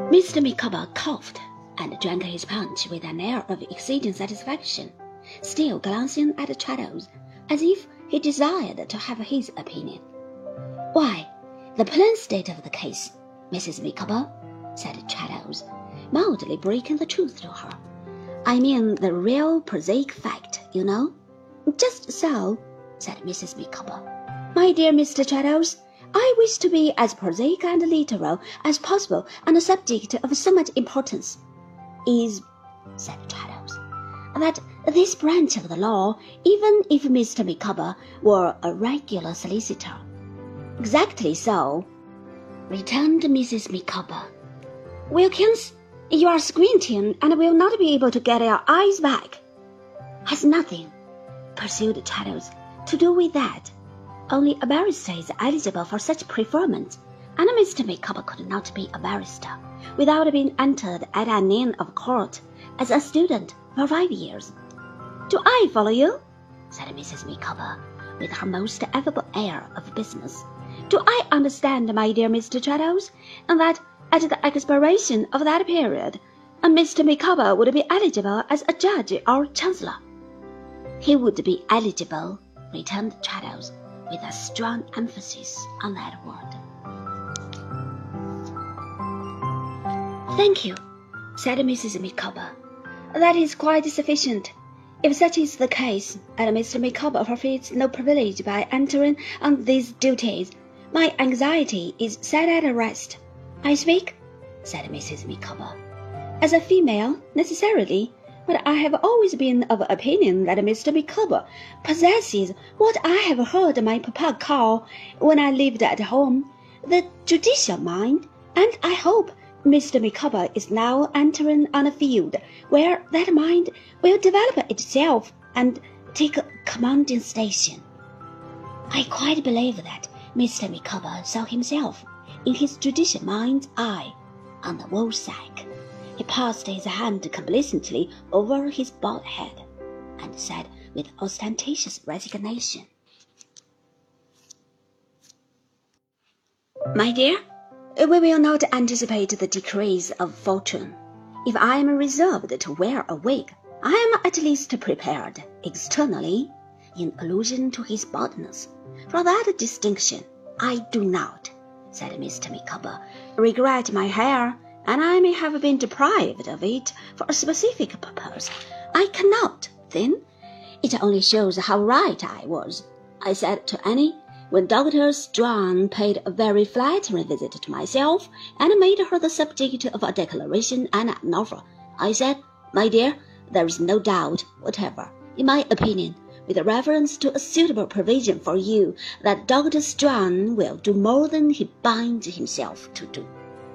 Mr. Micawber coughed and drank his punch with an air of exceeding satisfaction, still glancing at Traddles, as if he desired to have his opinion. "Why, the plain state of the case, Mrs. Micawber," said Traddles, mildly breaking the truth to her. "I mean the real prosaic fact, you know." "Just so," said Mrs. Micawber. "My dear Mr. Traddles, I wish to be as prosaic and literal as possible on a subject of so much importance. Is," said Traddles, "that this branch of the law, even if Mr. Micawber were a regular solicitor." "Exactly so," returned Mrs. Micawber. "Wilkins, you are squinting and will not be able to get your eyes back." "Has nothing," pursued Traddles, "to do with that. Only a barrister is eligible for such preferment, and Mr. Micawber could not be a barrister without being entered at an inn of court as a student for 5 years. "Do I follow you?" said Mrs. Micawber, with her most affable air of business. "Do I understand, my dear Mr. Traddles, that at the expiration of that period, Mr. Micawber would be eligible as a judge or chancellor?" "He would be eligible," returned Traddles, with a strong emphasis on that word. "Thank you," said Mrs. Micawber. "That is quite sufficient. If such is the case, and Mr. Micawber forfeits no privilege by entering on these duties, my anxiety is set at rest. I speak," said Mrs. Micawber, "as a female, necessarily, but I have always been of opinion that Mr. Micawber possesses what I have heard my papa call, when I lived at home, the judicial mind, and I hope Mr. Micawber is now entering on a field where that mind will develop itself and take a commanding station. I quite believe that Mr. Micawber saw himself in his judicial mind's eye on the woolsack." He passed his hand complacently over his bald head, and said with ostentatious resignation, "My dear, we will not anticipate the decrees of fortune. If I am reserved to wear a wig, I am at least prepared, externally, in allusion to his baldness. For that distinction I do not," said Mr. Micawber, "regret my hair, and I may have been deprived of it for a specific purpose. I cannot, then. It only shows how right I was. I said to Annie, when Dr. Strong paid a very flattering visit to myself and made her the subject of a declaration and an offer, I said, 'My dear, there is no doubt whatever, in my opinion, with reference to a suitable provision for you, that Dr. Strong will do more than he binds himself to do.'"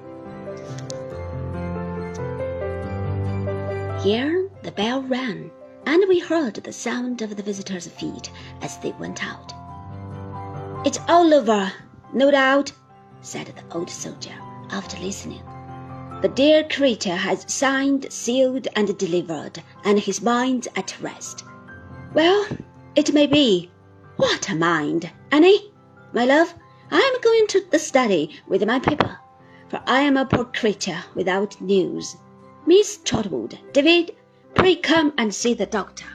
Here the bell rang, and we heard the sound of the visitors' feet as they went out. "It's all over, no doubt," said the old soldier, after listening. "The dear creature has signed, sealed, and delivered, and his mind's at rest. Well, it may be. What a mind! Annie, my love, I am going to the study with my paper, for I am a poor creature without news. Miss Trotwood, David, pray come and see the doctor."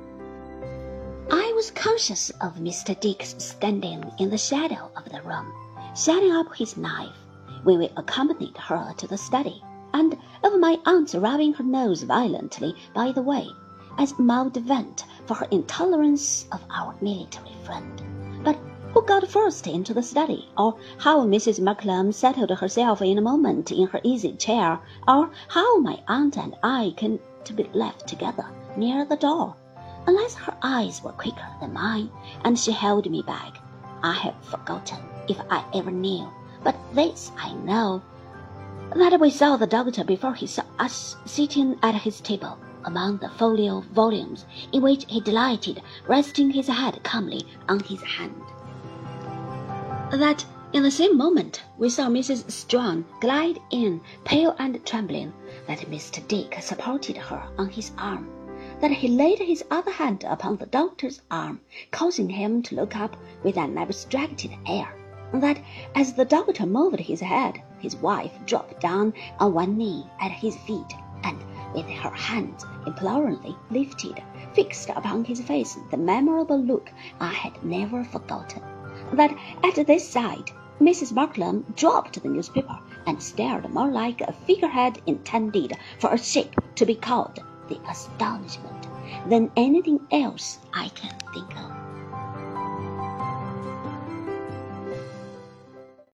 I was conscious of Mr. Dick's standing in the shadow of the room, shutting up his knife, when we accompanied her to the study, and of my aunt rubbing her nose violently by the way, as mild vent for her intolerance of our military friend. But who got first into the study, or how Mrs. Markleham settled herself in a moment in her easy chair, or how my aunt and I came to be left together near the door, unless her eyes were quicker than mine, and she held me back, I have forgotten if I ever knew. But this I know, that we saw the doctor before he saw us sitting at his table, among the folio volumes, in which he delighted, resting his head calmly on his hand. That in the same moment we saw Mrs. Strong glide in, pale and trembling, that Mr. Dick supported her on his arm, that he laid his other hand upon the doctor's arm, causing him to look up with an abstracted air, that as the doctor moved his head, his wife dropped down on one knee at his feet, and with her hands imploringly lifted, fixed upon his face the memorable look I had never forgotten. That at this sight, Mrs. Markleham dropped the newspaper and stared more like a figurehead intended for a ship to be called the Astonishment than anything else I can think of.